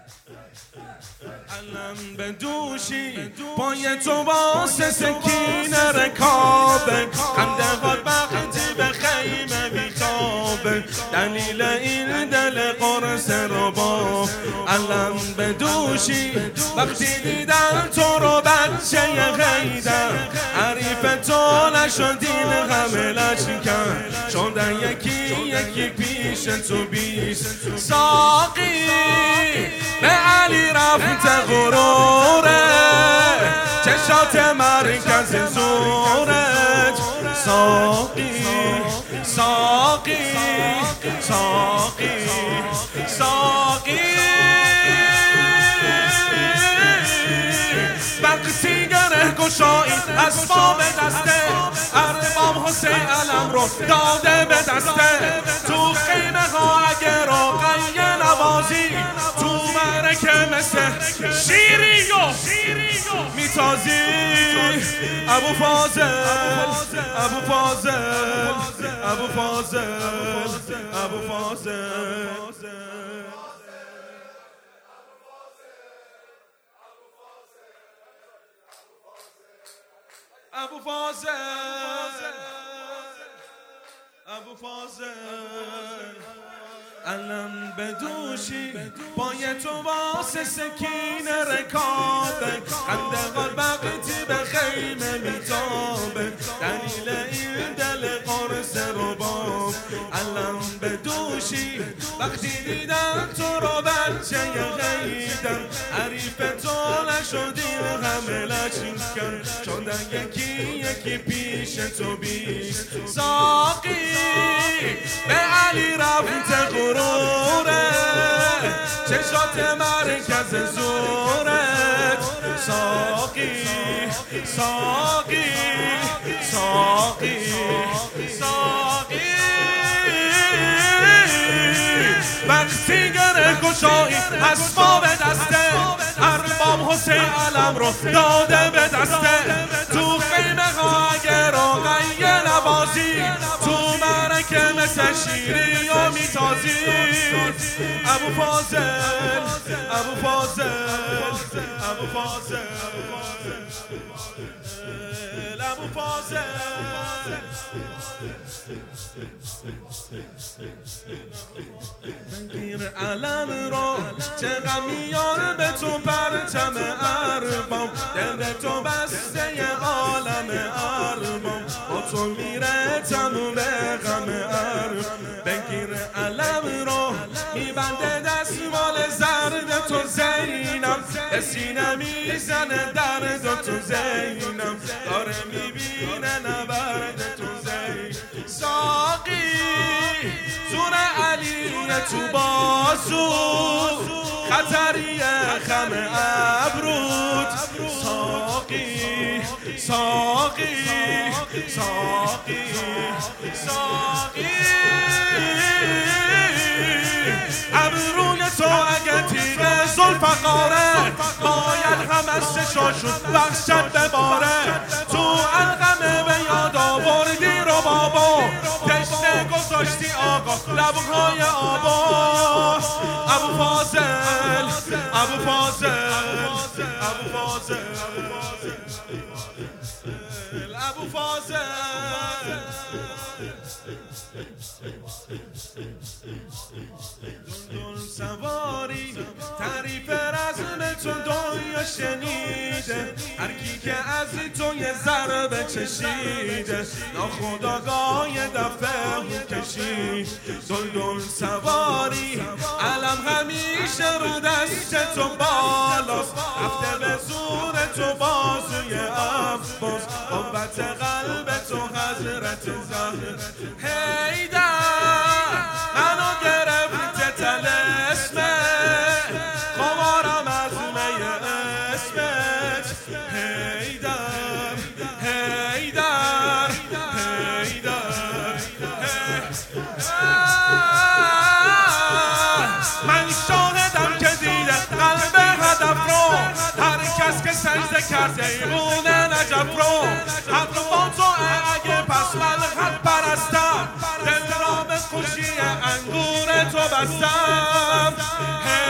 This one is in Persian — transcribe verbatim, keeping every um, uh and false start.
علم به دوشی پای تو واسه سکینه رکابه خنده خود وقتی به خیمه بیخوابه دلیل این دل قرص رو با علم به دوشی وقتی دیدم تو رو بچه غیدم حریف تو نشدین همه لشکن شدن یکی یکی پیش تو بیش ساقی به علی رفت غروره چشات مرکز زورت ساقی ساقی ساقی ساقی وقتی گره گشایی اسباب دسته ارباب حسین علم رو داده به دسته تو خیمه ها اگه رقیه نوازی تو مرکه مثل شیری و میتازی ابو فاضل ابو فاضل ابو فاضل ابو فاضل ابو فاضل ابو فاضل علم به دوشی پای تو واسه سکینه رکابه خنده قلب وقتی به خیمه میتابه دلیل این دل قرص رو با علم به دوشی وقتی دیدم تو رو بچه غیدم حریف تو نشدین همه لشکن شدن یکی یکی پیش تو بیش ساقی به علی رفت غروره چشات مرکز زورت ساقی ساقی ساقی ساقی وقتی گره گشایی اسباب دسته ارباب حسین علم رو داده به دسته تو خیمه ها اگه رقیه نوازی تو مرکه مثل شیری و میتازی ابو فاضل ابو فاضل ابو فاضل ابو فاضل بگیر علم رو چه غمیان به تو پرچم ارباب دل تو بسته عالم ارباب با تو میره تموم غم ارباب بگیر علم رو میبنده دستمال زرد تو زینم به سینه میزنه درد تو زینم داره میبینه نبرد تو زینم ساقی زور علی تو بازو خطریه خم ابرود ساقی ساقی ساقی ساقی ابروی تو اگه تیغ زلفقاره باید همه سشاشون بخشت بباره تو القمه به یاد آوردی رو بابا تشنه گذاشتی آقا لبهای آبا ابو فاضل ابو فاضل ابو فاضل ابو فاضل دندون سواری تعریف رزم تو دنیا شنیده هر کی که از تو یه ضربه چشیده ناخودآگاه یه دفعه کشید دندون سواری علم همیشه رو دست تو بالاست رفته به زور تو بازوی عباس قوت قلب تو حضرت زهر حیدر منو گرفته طلسمه خمارم از می اسمت حیدر حیدر حیدر من شاهدم که دیده قلب هدف رو هر کس که سجده کرده ایرون نجف رو حق با تو اگه پس من حق پرستم دل را به خوشی انگور تو بستم